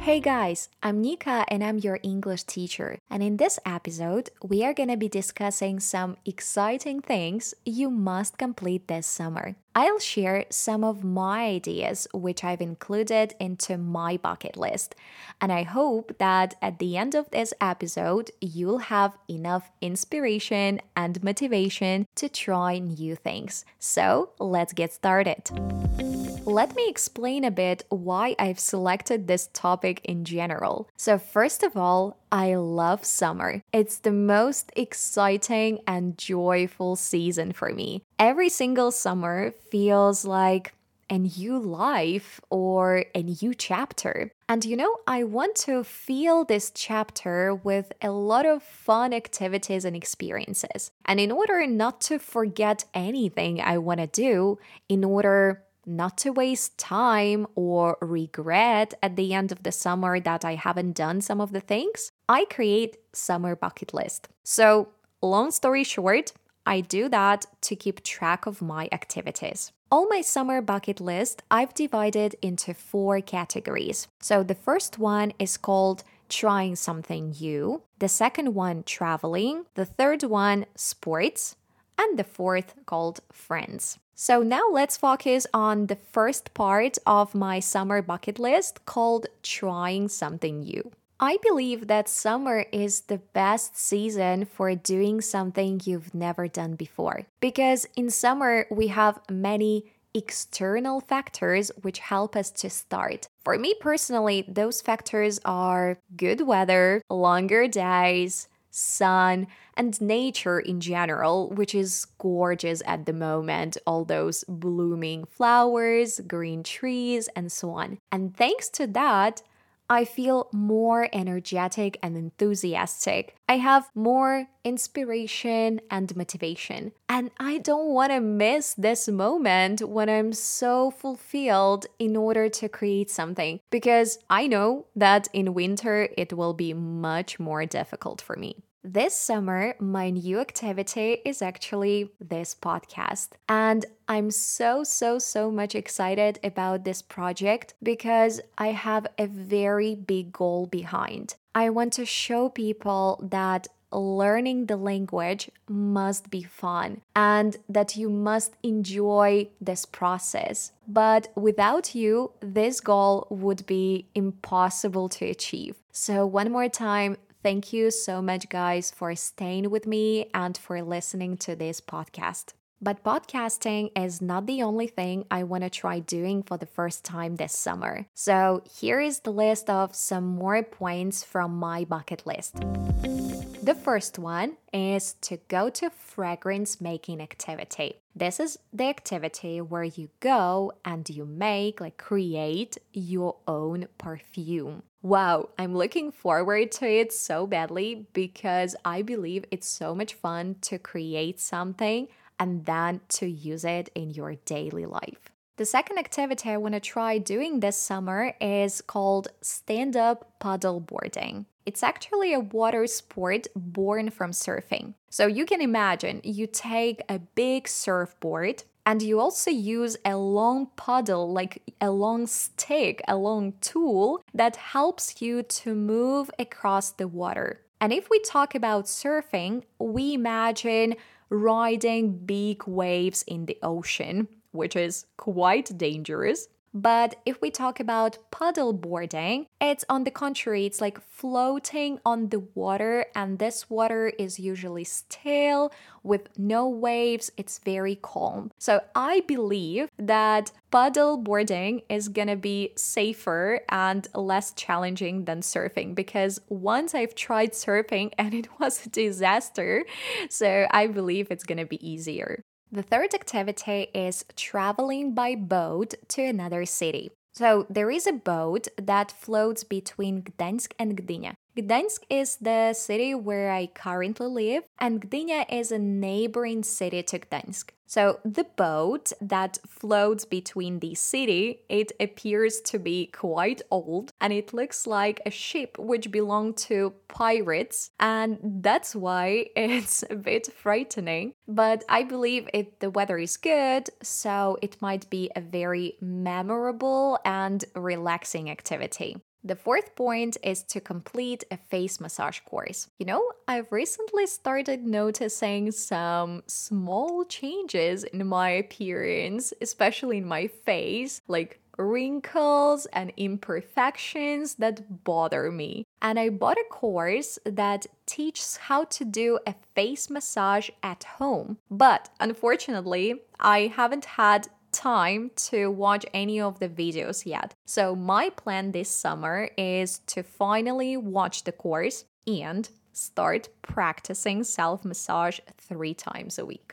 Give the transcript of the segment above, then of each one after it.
Hey guys, I'm Nika and I'm your English teacher. And in this episode, we are going to be discussing some exciting things you must complete this summer. I'll share some of my ideas which I've included into my bucket list. And I hope that at the end of this episode, you'll have enough inspiration and motivation to try new things. So let's get started. Let me explain a bit why I've selected this topic in general. So, first of all, I love summer. It's the most exciting and joyful season for me. Every single summer feels like a new life or a new chapter. And I want to feel this chapter with a lot of fun activities and experiences. And in order not to forget anything I want to do, in order not to waste time or regret at the end of the summer that I haven't done some of the things, I create summer bucket list. So, long story short, I do that to keep track of my activities. All my summer bucket list I've divided into 4 categories. So the first one is called trying something new, the second one traveling, the third one sports, and the fourth called friends. So now let's focus on the first part of my summer bucket list called trying something new. I believe that summer is the best season for doing something you've never done before. Because in summer, we have many external factors which help us to start. For me personally, those factors are good weather, longer days, sun, and nature in general, which is gorgeous at the moment. All those blooming flowers, green trees, and so on. And thanks to that, I feel more energetic and enthusiastic. I have more inspiration and motivation. And I don't want to miss this moment when I'm so fulfilled in order to create something, because I know that in winter it will be much more difficult for me. This summer, my new activity is actually this podcast. And I'm so much excited about this project because I have a very big goal behind. I want to show people that learning the language must be fun and that you must enjoy this process. But without you, this goal would be impossible to achieve. So one more time, thank you so much, guys, for staying with me and for listening to this podcast. But podcasting is not the only thing I want to try doing for the first time this summer. So here is the list of some more points from my bucket list. The first one is to go to fragrance making activity. This is the activity where you go and you create your own perfume. Wow, I'm looking forward to it so badly because I believe it's so much fun to create something and then to use it in your daily life. The second activity I want to try doing this summer is called stand-up paddleboarding. It's actually a water sport born from surfing. So you can imagine you take a big surfboard and you also use a long paddle, like a long stick, a long tool that helps you to move across the water. And if we talk about surfing, we imagine riding big waves in the ocean, which is quite dangerous. But if we talk about paddleboarding, it's on the contrary, it's like floating on the water, and this water is usually still with no waves. It's very calm. So I believe that paddleboarding is gonna be safer and less challenging than surfing, because once I've tried surfing and it was a disaster, so I believe it's gonna be easier. The third activity is traveling by boat to another city. So there is a boat that floats between Gdańsk and Gdynia. Gdańsk is the city where I currently live, and Gdynia is a neighboring city to Gdańsk. So the boat that floats between the city, it appears to be quite old, and it looks like a ship which belonged to pirates, and that's why it's a bit frightening. But I believe the weather is good, so it might be a very memorable and relaxing activity. The fourth point is to complete a face massage course. I've recently started noticing some small changes in my appearance, especially in my face, like wrinkles and imperfections that bother me. And I bought a course that teaches how to do a face massage at home. But unfortunately, I haven't had time to watch any of the videos yet. So my plan this summer is to finally watch the course and start practicing self-massage 3 times a week.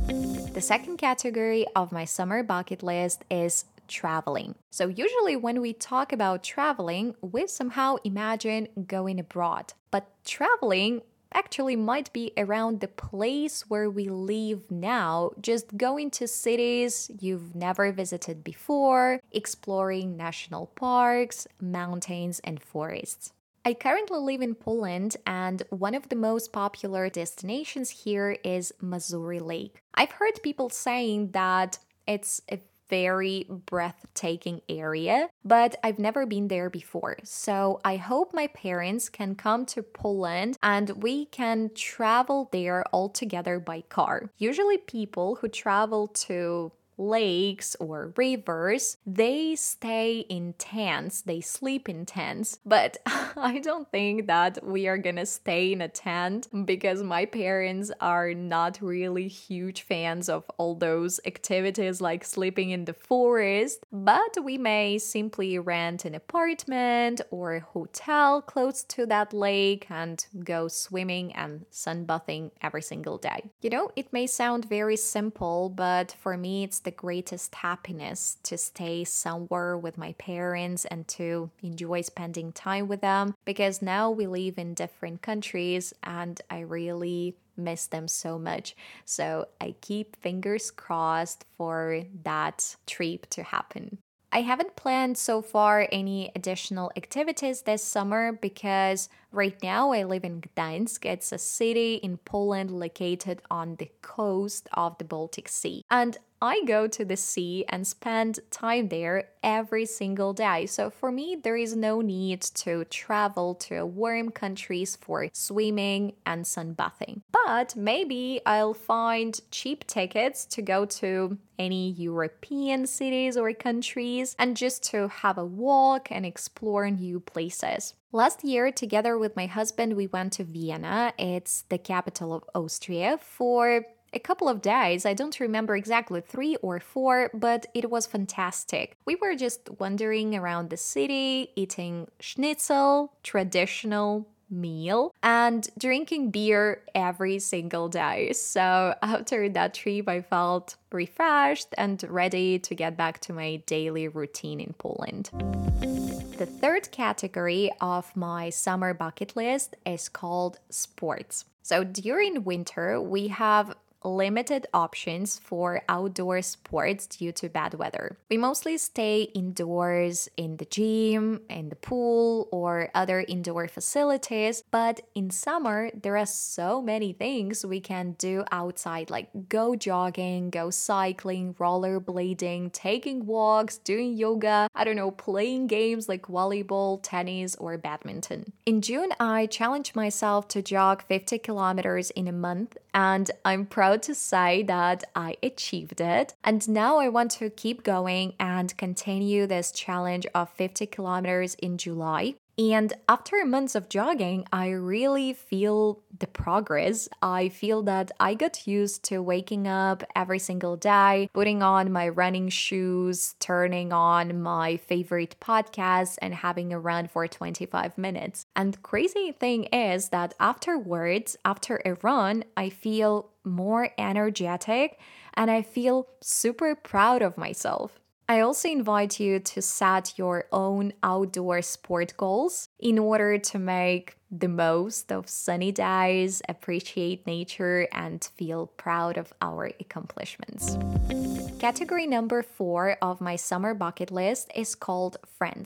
The second category of my summer bucket list is traveling. So usually when we talk about traveling, we somehow imagine going abroad. But traveling actually might be around the place where we live now, just going to cities you've never visited before, exploring national parks, mountains, and forests. I currently live in Poland, and one of the most popular destinations here is Mazuri Lake. I've heard people saying that it's a very breathtaking area, but I've never been there before. So I hope my parents can come to Poland and we can travel there all together by car. Usually people who travel to lakes or rivers, they stay in tents, they sleep in tents. But I don't think that we are gonna stay in a tent because my parents are not really huge fans of all those activities like sleeping in the forest. But we may simply rent an apartment or a hotel close to that lake and go swimming and sunbathing every single day. It may sound very simple, but for me, it's the greatest happiness to stay somewhere with my parents and to enjoy spending time with them, because now we live in different countries and I really miss them so much. So I keep fingers crossed for that trip to happen. I haven't planned so far any additional activities this summer because right now I live in Gdańsk. It's a city in Poland located on the coast of the Baltic Sea. And I go to the sea and spend time there every single day. So for me, there is no need to travel to warm countries for swimming and sunbathing. But maybe I'll find cheap tickets to go to any European cities or countries and just to have a walk and explore new places. Last year, together with my husband, we went to Vienna. It's the capital of Austria for a couple of days. I don't remember exactly 3 or 4, but it was fantastic. We were just wandering around the city, eating schnitzel, traditional meal, and drinking beer every single day. So after that trip, I felt refreshed and ready to get back to my daily routine in Poland. The third category of my summer bucket list is called sports. So during winter, we have limited options for outdoor sports due to bad weather. We mostly stay indoors in the gym, in the pool, or other indoor facilities. But in summer, there are so many things we can do outside, like go jogging, go cycling, rollerblading, taking walks, doing yoga, playing games like volleyball, tennis, or badminton. In June, I challenged myself to jog 50 kilometers in a month, and I'm proud to say that I achieved it. And now I want to keep going and continue this challenge of 50 kilometers in July. And after months of jogging, I really feel the progress. I feel that I got used to waking up every single day, putting on my running shoes, turning on my favorite podcast, and having a run for 25 minutes. And the crazy thing is that afterwards, after a run, I feel more energetic and I feel super proud of myself. I also invite you to set your own outdoor sport goals in order to make the most of sunny days, appreciate nature, and feel proud of our accomplishments. Category number 4 of my summer bucket list is called friends.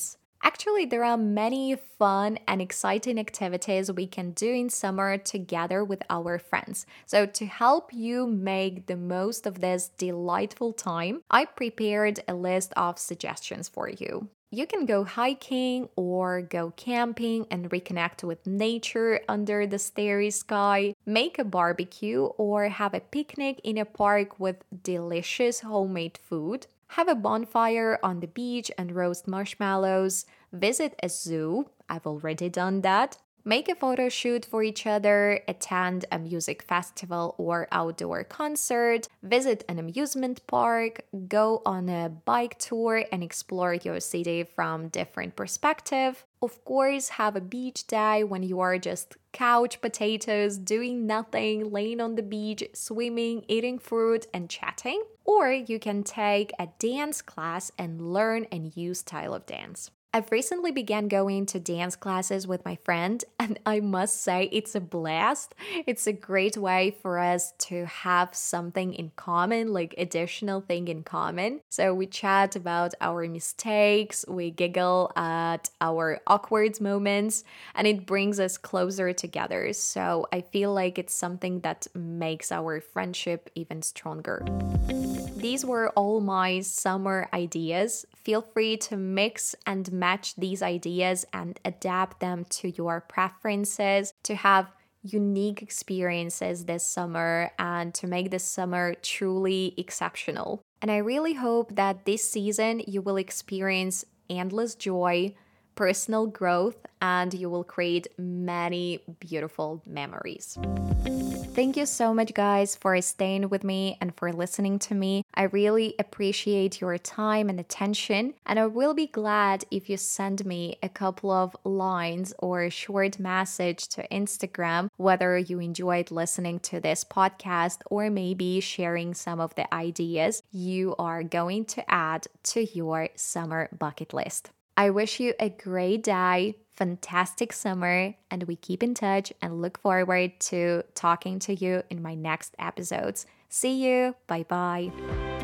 Actually, there are many fun and exciting activities we can do in summer together with our friends. So, to help you make the most of this delightful time, I prepared a list of suggestions for you. You can go hiking or go camping and reconnect with nature under the starry sky, make a barbecue or have a picnic in a park with delicious homemade food, have a bonfire on the beach and roast marshmallows, visit a zoo. I've already done that. Make a photo shoot for each other, attend a music festival or outdoor concert, visit an amusement park, go on a bike tour and explore your city from different perspective. Of course, have a beach day when you are just couch potatoes, doing nothing, laying on the beach, swimming, eating fruit and chatting. Or you can take a dance class and learn a new style of dance. I've recently began going to dance classes with my friend, and I must say it's a blast. It's a great way for us to have something in common, like additional thing in common. So we chat about our mistakes, we giggle at our awkward moments, and it brings us closer together. So I feel like it's something that makes our friendship even stronger. These were all my summer ideas. Feel free to mix and match these ideas and adapt them to your preferences to have unique experiences this summer and to make this summer truly exceptional. And I really hope that this season you will experience endless joy, personal growth, and you will create many beautiful memories. Thank you so much, guys, for staying with me and for listening to me. I really appreciate your time and attention, and I will be glad if you send me a couple of lines or a short message to Instagram, whether you enjoyed listening to this podcast or maybe sharing some of the ideas you are going to add to your summer bucket list. I wish you a great day, fantastic summer, and we keep in touch and look forward to talking to you in my next episodes. See you. Bye bye.